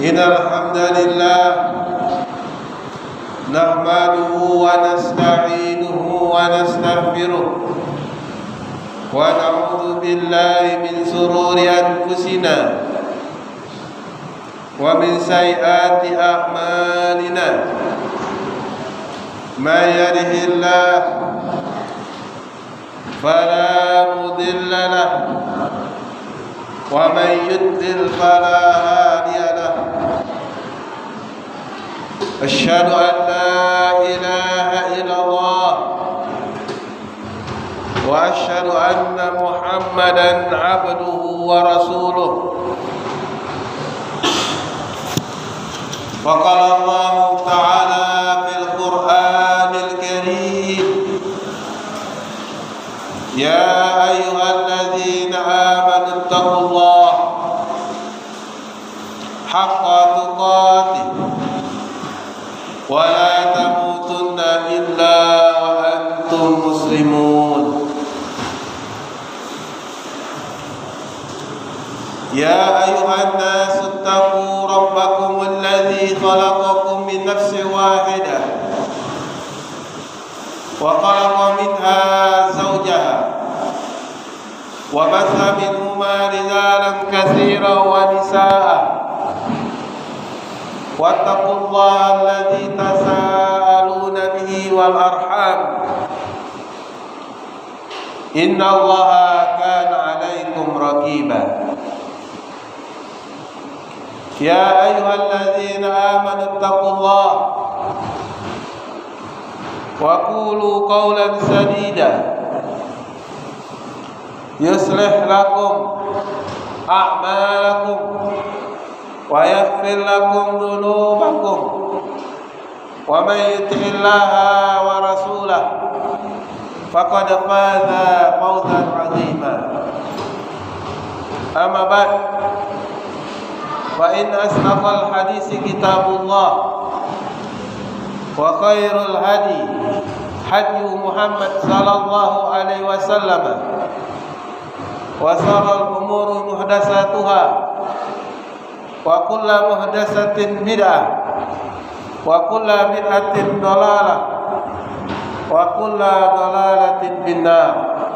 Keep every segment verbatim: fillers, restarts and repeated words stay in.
إن الحمد لله نحمده ونستعينه ونستغفره ونعوذ بالله من شرور أنفسنا ومن سيئات أعمالنا من يهده الله فلا مضل له ومن يضلل فلا هادي له أشهد أن لا إله إلا الله وأشهد أن محمدا عبده ورسوله فقال الله تعالى في القرآن الكريم يا أيها الذين آمنوا اتقوا الله حق تقاته ولا تموتن إلا وأنتم مسلمون يا أيها الناس اتقوا ربكم الذي خلقكم من نفس واحدة وخلق منها زوجها وبث منهما رجالا كثيرا ونساء واتقوا الله الذي تساءلون به والأرحام إن الله كان عليكم رقيبا يا أيها الذين آمنوا اتقوا الله وقولوا قولا سديدا يصلح لكم أعمالكم ويغفر لكم ذنوبكم ومن يطع الله ورسوله فقد فاز فوزا عظيما أما بعد فإن أصدق الحديث كتاب الله وخير الهدي هدي محمد صلى الله عليه وسلم وشر الأمور محدثاتها وكل محدثة بدعة وكل بدعة ضلالة وكل ضلالة في النار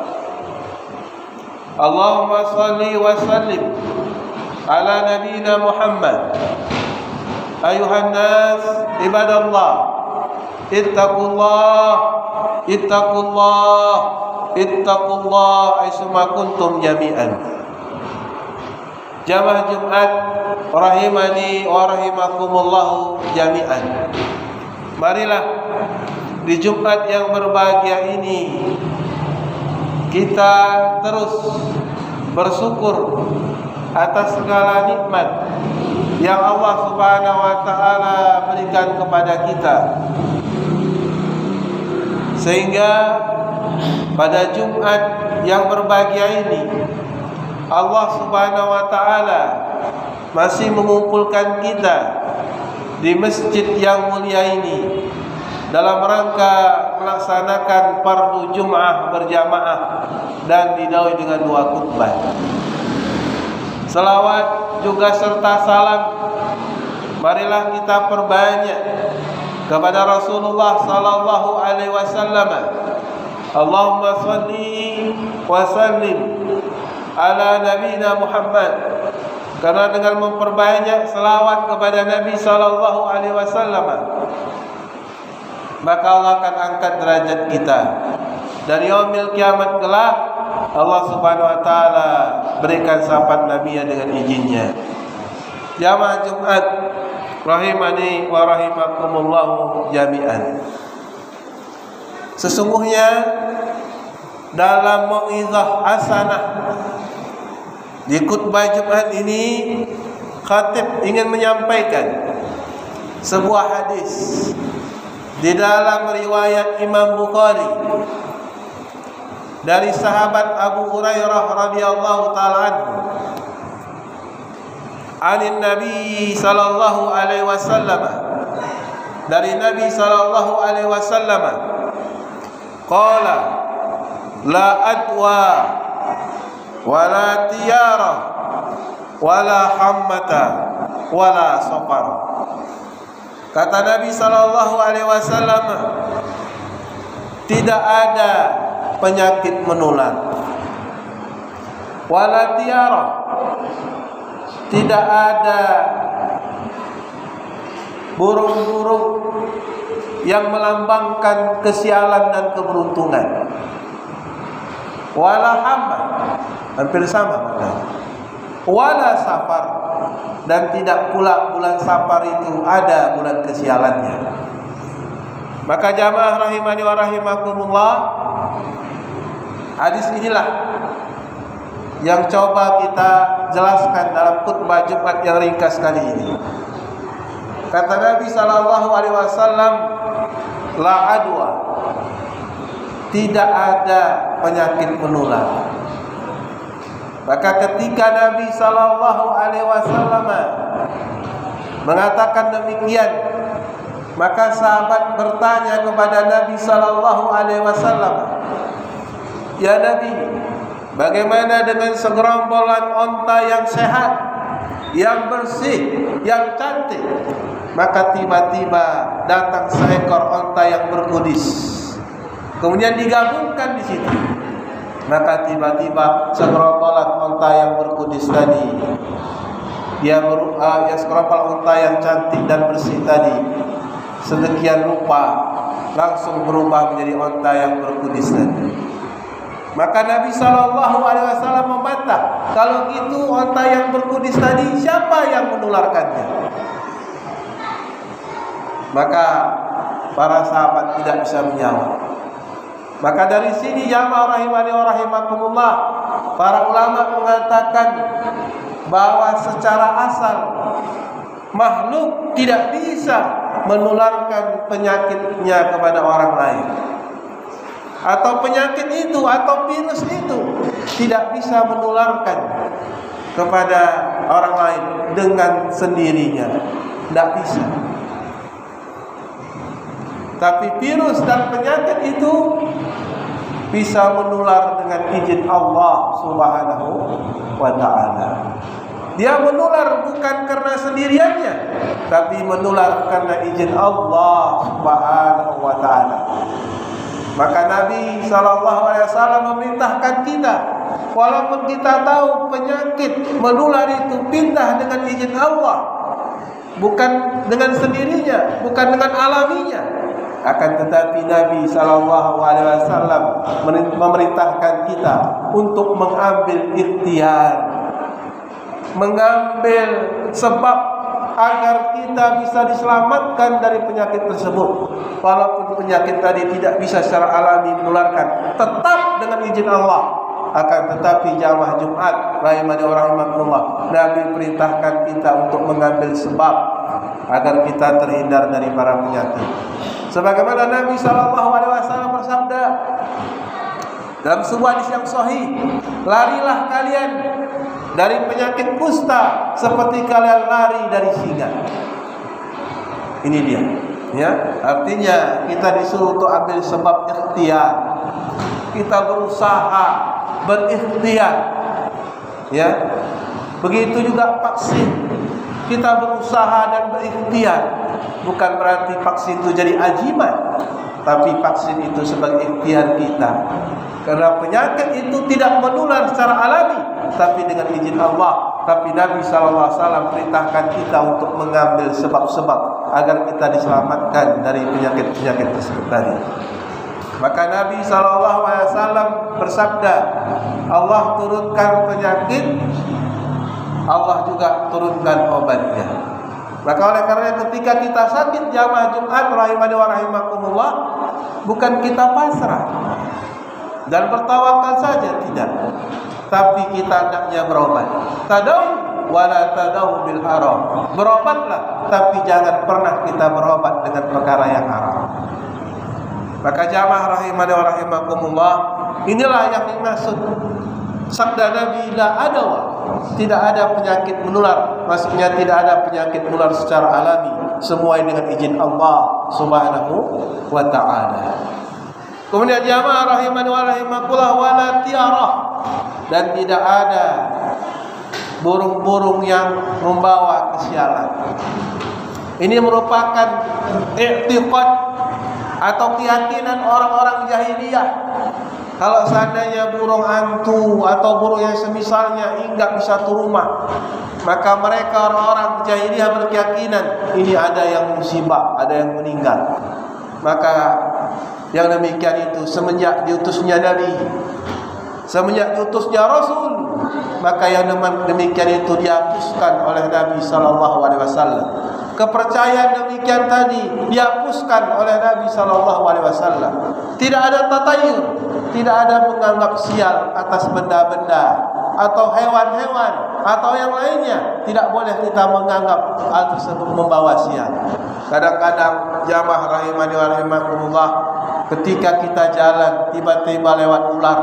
اللهم صل وسلم على نبينا محمد أيها الناس عباد الله اتقوا الله اتقوا الله اتقوا الله حيثما كنتم جميعا. Jamaah Jumat rahimani wa rahimakumullah jami'an. Marilah di Jumat yang berbahagia ini kita terus bersyukur atas segala nikmat yang Allah Subhanahu wa taala berikan kepada kita, sehingga pada Jumat yang berbahagia ini Allah Subhanahu wa taala masih mengumpulkan kita di masjid yang mulia ini dalam rangka melaksanakan fardu Jum'ah berjamaah dan didahului dengan dua khutbah. Salawat juga serta salam marilah kita perbanyak kepada Rasulullah sallallahu alaihi wasallam. Allahumma shalli wa sallim ala nabiyina Muhammad. Karena dengan memperbanyak selawat kepada Nabi sallallahu alaihi wasallam, maka Allah akan angkat derajat kita. Dan yaumil kiamat kelak Allah Subhanahu wa taala berikan syafaat Nabi dengan izinnya. Jamaah Jumat rahimani wa rahimakumullah jami'an. Sesungguhnya dalam mau'izah hasanah di khutbah Jumat ini, khatib ingin menyampaikan sebuah hadis di dalam riwayat Imam Bukhari dari sahabat Abu Hurairah radhiyallahu taala anhu, anin Nabi sallallahu alaihi wasallam, dari Nabi sallallahu alaihi wasallam, qala la adwa wala tiyara wala hammata wala safar. Kata Nabi sallallahu alaihi wasallam, tidak ada penyakit menular, wala tiara, tidak ada burung-burung yang melambangkan kesialan dan keberuntungan, wala hamba, hampir sama maknanya, wala safar, dan tidak pula bulan safar itu ada bulan kesialannya. Maka jamaah rahimani wa rahimakumullah, hadis inilah yang coba kita jelaskan dalam khutbah Jumat yang ringkas kali ini. Kata Nabi sallallahu alaihi wasallam, la adwa, tidak ada penyakit menular. Maka ketika Nabi sallallahu alaihi wasallam mengatakan demikian, maka sahabat bertanya kepada Nabi sallallahu alaihi wasallam, "Ya Nabi, bagaimana dengan segerombolan onta yang sehat, yang bersih, yang cantik?" Maka tiba-tiba datang seekor onta yang berkudis, kemudian digabungkan di situ. Maka tiba-tiba segerombolan onta yang berkudis tadi, dia ber, uh, ya segerombolan onta yang cantik dan bersih tadi, sedemikian rupa langsung berubah menjadi onta yang berkudis tadi. Maka Nabi sallallahu alaihi wasallam membantah, kalau gitu onta yang berkudis tadi siapa yang menularkannya? Maka para sahabat tidak bisa menjawab. Maka dari sini jamaah rahimani wa rahimakumullah, para ulama mengatakan bahwa secara asal makhluk tidak bisa menularkan penyakitnya kepada orang lain, atau penyakit itu atau virus itu tidak bisa menularkan kepada orang lain dengan sendirinya, tidak bisa. Tapi virus dan penyakit itu bisa menular dengan izin Allah Subhanahu wa ta'ala. Dia menular bukan karena sendiriannya, tapi menular karena izin Allah Subhanahu wa ta'ala. Maka Nabi sallallahu alaihi wasallam memerintahkan kita, walaupun kita tahu penyakit menular itu pindah dengan izin Allah, bukan dengan sendirinya, bukan dengan alaminya, akan tetapi Nabi sallallahu alaihi wasallam memerintahkan kita untuk mengambil ikhtiar, mengambil sebab agar kita bisa diselamatkan dari penyakit tersebut. Walaupun penyakit tadi tidak bisa secara alami menularkan, tetap dengan izin Allah. Akan tetapi jamaah Jumat rahimani wa rahimakumullah, Nabi perintahkan kita untuk mengambil sebab agar kita terhindar dari para penyakit. Sebagaimana Nabi sallallahu alaihi wasallam bersabda dalam sebuah hadis yang sahih, larilah kalian dari penyakit kusta seperti kalian lari dari singa. Ini dia, ya. Artinya kita disuruh untuk ambil sebab ikhtiar. Kita berusaha berikhtiar, ya. Begitu juga vaksin. Kita berusaha dan berikhtiar. Bukan berarti vaksin itu jadi ajiman, tapi vaksin itu sebagai ikhtiar kita. Karena penyakit itu tidak menular secara alami, tapi dengan izin Allah. Tapi Nabi sallallahu alaihi wasallam perintahkan kita untuk mengambil sebab-sebab agar kita diselamatkan dari penyakit-penyakit tersebut tadi. Maka Nabi sallallahu alaihi wasallam bersabda, Allah turunkan penyakit, Allah juga turunkan obatnya. Maka oleh karena ketika kita sakit jamaah Jumat rahimani wa rahimakumullah, bukan kita pasrah dan bertawakal saja, tidak, tapi kita hendaknya berobat. Tadau wala tadau bil haram. Berobatlah, tapi jangan pernah kita berobat dengan perkara yang haram. Maka jamaah rahimani wa rahimakumullah, inilah yang dimaksud sabda Nabi, la adawa, tidak ada penyakit menular. Maksudnya tidak ada penyakit menular secara alami, semua dengan izin Allah Subhanahu wa ta'ala. Kemudian jamaah rahimani wa rahimakumullah, wala tiara, dan tidak ada burung-burung yang membawa kesialan. Ini merupakan i'tiqad atau keyakinan orang-orang jahiliyah. Kalau seandainya burung hantu atau burung yang semisalnya hinggap di satu rumah, maka mereka orang-orang jahiliyah berkeyakinan ini ada yang musibah, ada yang meninggal. Maka yang demikian itu semenjak diutusnya Nabi, semenjak diutusnya Rasul, maka yang demikian itu dihapuskan oleh Nabi sallallahu alaihi wasallam. Kepercayaan demikian tadi dihapuskan oleh Nabi sallallahu alaihi wasallam. Tidak ada tatayur, tidak ada menganggap sial atas benda-benda atau hewan-hewan atau yang lainnya. Tidak boleh kita menganggap hal tersebut membawa sial. Kadang-kadang jamaah rahimani wa rahimakumullah, ketika kita jalan tiba-tiba lewat ular,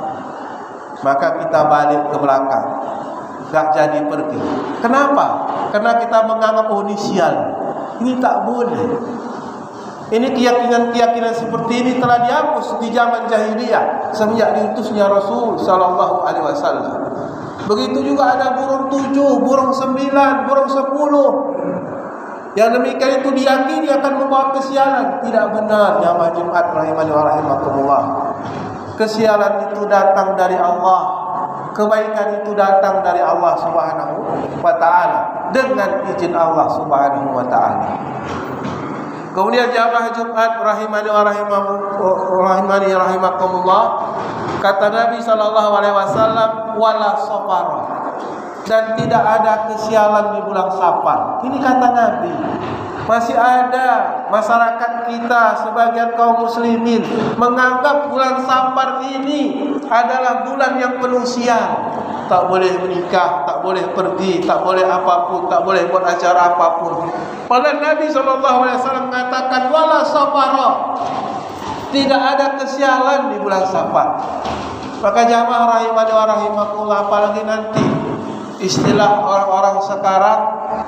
maka kita balik ke belakang, gak jadi pergi. Kenapa? Karena kita menganggap oh ini sial. Ini tak boleh. Ini keyakinan-keyakinan seperti ini telah dihapus di zaman jahiliyah semenjak diutusnya Rasul sallallahu alaihi wasallam. Begitu juga ada burung tujuh, burung sembilan, burung sepuluh. Yang demikian itu diyakini akan membawa kesialan. Tidak benar, jamaah Jumat rahimani wa rahimakumullah. Kesialan itu datang dari Allah. Kebaikan itu datang dari Allah Subhanahu wa taala dengan izin Allah Subhanahu wa taala. Kemudian jamaah Jumat rahimani wa rahimani rahimakumullah, kata Nabi sallallahu alaihi wasallam, wala safara, dan tidak ada kesialan di bulan Safar. Ini kata Nabi. Masih ada masyarakat kita, sebagian kaum muslimin menganggap bulan Safar ini adalah bulan yang penuh sial. Tak boleh menikah, tak boleh pergi, tak boleh apapun, tak boleh buat acara apapun. Padahal Nabi sallallahu alaihi wasallam mengatakan wala safara, tidak ada kesialan di bulan Safar. Maka jamaah rahimani wa rahimakumullah, apalagi nanti istilah orang-orang sekarang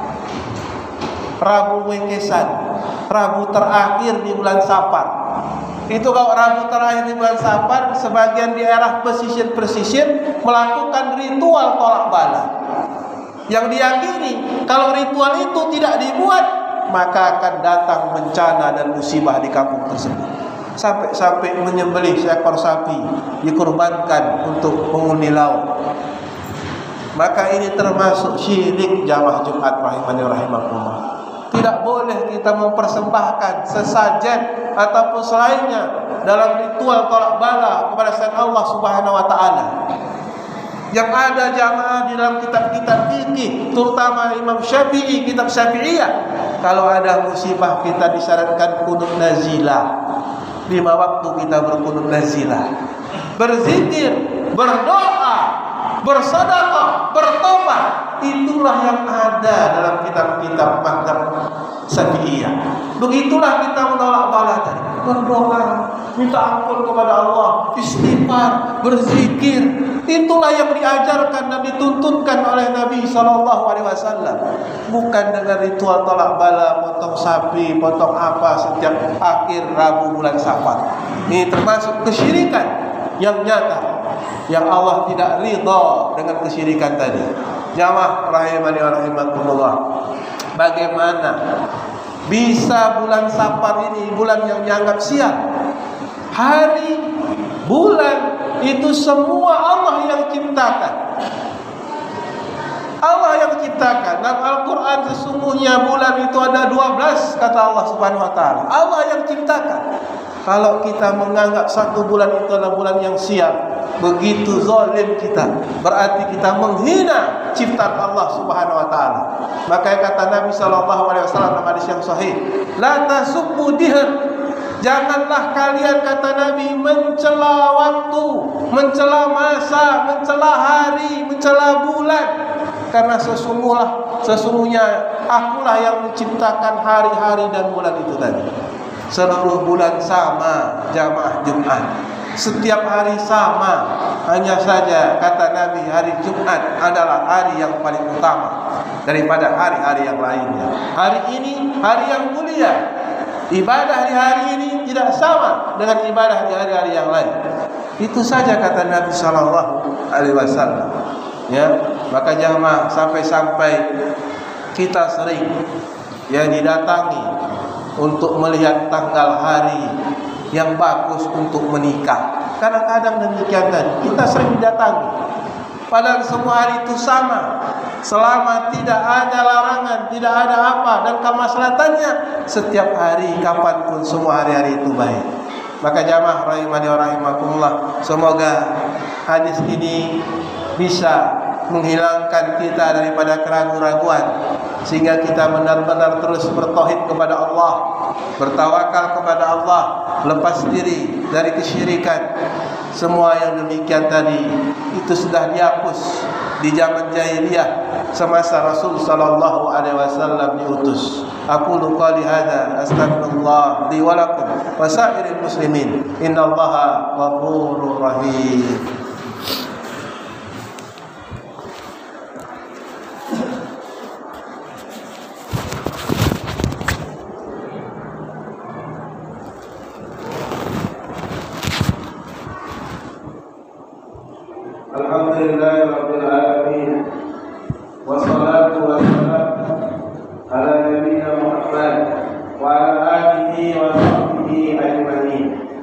Rabu Wengkesan, Rabu terakhir di bulan Safar. Itu kalau Rabu terakhir di bulan Safar, sebagian di daerah pesisir-pesisir melakukan ritual tolak bala. Yang diyakini kalau ritual itu tidak dibuat, maka akan datang bencana dan musibah di kampung tersebut. Sampai-sampai menyembelih seekor sapi dikurbankan untuk penghuni laut. Maka ini termasuk syirik jamaah Jumat rahimani rahimakumullah. Tidak boleh kita mempersembahkan sesajen ataupun selainnya dalam ritual tolak bala kepada selain Allah Subhanahu wa taala. Yang ada jamaah di dalam kitab-kitab fikih, terutama Imam Syafi'i, kitab Syafi'iyah, kalau ada musibah kita disyaratkan kunut nazilah. Lima waktu kita berkunut nazilah, berzikir, berdoa, bersedekah, bertobat. Itulah yang ada dalam kitab-kitab mazhab Syafi'iyah. Begitulah kita menolak bala tadi. Berdoa, minta ampun kepada Allah, istighfar, berzikir. Itulah yang diajarkan dan dituntunkan oleh Nabi sallallahu alaihi wasallam. Bukan dengan ritual tolak bala, potong sapi, potong apa setiap akhir Rabu bulan Safar. Ini termasuk kesyirikan yang nyata, yang Allah tidak ridha dengan kesyirikan tadi. Jamaah rahimani wa rahimakumullah, bagaimana bisa bulan Safar ini bulan yang dianggap sial? Hari, bulan itu semua Allah yang ciptakan. Allah yang ciptakan. Dalam Al-Quran sesungguhnya bulan itu ada dua belas, kata Allah Subhanahu wa taala. Allah yang ciptakan. Kalau kita menganggap satu bulan itu adalah bulan yang sial, begitu zalim kita, berarti kita menghina ciptaan Allah Subhanahu wa taala. Maka kata Nabi sallallahu alaihi wasallam dalam hadis yang sahih, la tasubbu dihr, janganlah kalian, kata Nabi, mencela waktu, mencela masa, mencela hari, mencela bulan. Karena sesungguhnya sesungguhnya akulah yang menciptakan hari-hari dan bulan itu tadi. Seluruh bulan sama jamaah Jumat, setiap hari sama. Hanya saja kata Nabi, hari Jumat adalah hari yang paling utama daripada hari-hari yang lainnya. Hari ini hari yang mulia. Ibadah di hari ini tidak sama dengan ibadah di hari-hari yang lain. Itu saja kata Nabi sallallahu alaihi wasallam. Ya, Maka jamaah, sampai-sampai kita sering ya didatangi untuk melihat tanggal hari yang bagus untuk menikah. Kadang-kadang demikian tadi, kita sering didatangi, padahal semua hari itu sama, selama tidak ada larangan, tidak ada apa, dan kemaslahatannya setiap hari, kapanpun, semua hari-hari itu baik. Maka jamaah rahimani wa rahimakumullah, semoga hadis ini bisa menghilangkan kita daripada keraguan-raguan, sehingga kita benar-benar terus bertauhid kepada Allah, bertawakal kepada Allah, lepas diri dari kesyirikan. Semua yang demikian tadi itu sudah dihapus di zaman jahiliyah semasa Rasul sallallahu alaihi wasallam diutus. Aku qouli hadza astaghfirullah li wa lakum wa sa'iril muslimin innallaha ghafurur rahim. Alhamdulillahirabbil alamin, wassalatu wassalamu ala nabiyyina Muhammad wa ala alihi wa sahbihi ajma'in.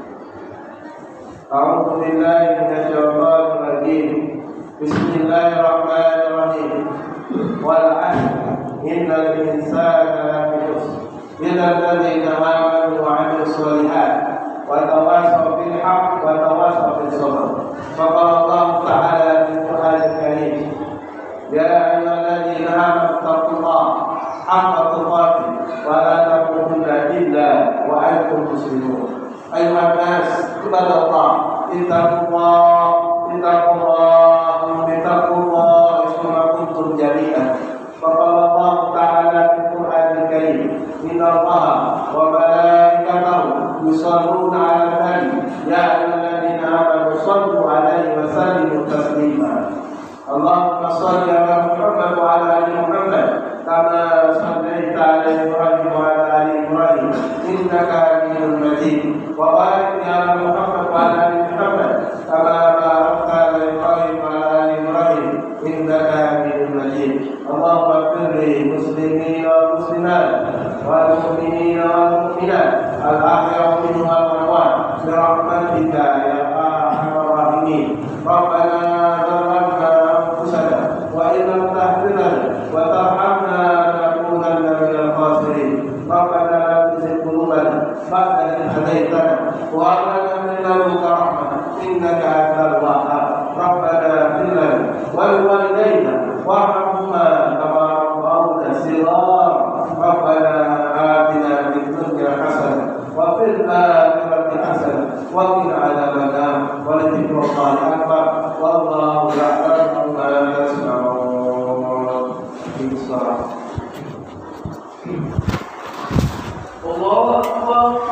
A'udzu billahi minasy syaithanir rajim. Bismillahirrahmanirrahim. Wal 'asr innal insana lafi khusr illa alladziina aamanu wa 'amilus shalihat wa tawassaw bil haqq wa tawassaw bis sabr. Faqala Allah Ta'ala fil Qur'anil Karim, ya ayyuhalladzina amanu taqullaha haqqa tuqatih wa la tamutunna illa wa antum muslimun. Ayuhan nas, ibadallah, ittaqullah, ittaqullah, ittaqullah kama kuntum jami'an. Faqala Allah Ta'ala fil Qur'anil Karim, innallaha wa malaikatahu yusholluna 'alan nabi, ya ayyuhalladzina amanu shallu 'alaihi wa sallimu taslima. Allahumma shalli 'ala Muhammad wa 'ala ali Muhammad kama shallaita 'ala Ibrahim wa 'ala ali Ibrahim innaka Hamidum Majid. Wa barik 'ala Muhammad wa 'ala ali Muhammad kama barakta 'ala Ibrahim wa 'ala ali Ibrahim innaka Hamidum Majid. Allahumma ighfir lil muslimina wal muslimat wal mu'minina wal mu'minat al-ahya'i minhum wal amwat bi rahmatika ya arhamar rahimin. Rabbana zalamna anfusana wa in lam taghfir lana wa tarhamna lanakunanna minal khasirin. Rabbana la tuzigh qulubana ba'da idh hadaytana wa hab lana min ladunka rahmah innaka antal wahhab. Rabbana ighfir lana wa liwalidayna warhamhuma kama rabbawna shighara. Rabbana atina fid dunya hasanah wa fil akhirati hasanah wa qina adzaban nar. Wa la dhikrullahi akbar wallahu ya'lamu ma tasna'un. Bismillah. Allahu akbar.